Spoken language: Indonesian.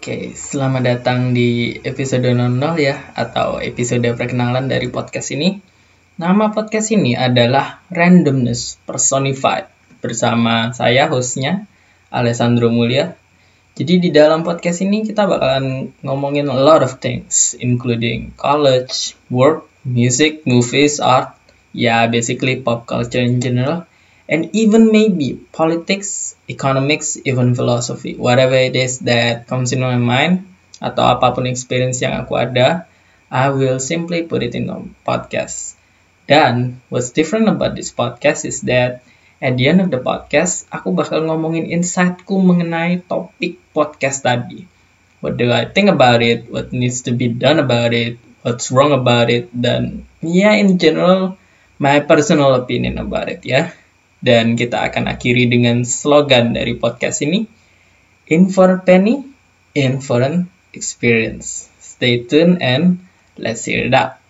Oke, selamat datang di episode 00 ya, atau episode perkenalan dari podcast ini. Nama podcast ini adalah Randomness Personified, bersama saya hostnya, Alessandro Mulia. Jadi di dalam podcast ini kita bakalan ngomongin a lot of things, including college, work, music, movies, art, ya basically pop culture in general. And even maybe politics, economics, even philosophy, whatever it is that comes in my mind, atau apapun experience yang aku ada, I will simply put it in a podcast. Dan what's different about this podcast is that at the end of the podcast, aku bakal ngomongin insightku mengenai topik podcast tadi. What do I think about it? What needs to be done about it? What's wrong about it? Dan in general, my personal opinion about it ya. Dan kita akan akhiri dengan slogan dari podcast ini, in for a penny, in for an experience. Stay tuned and let's hear it out.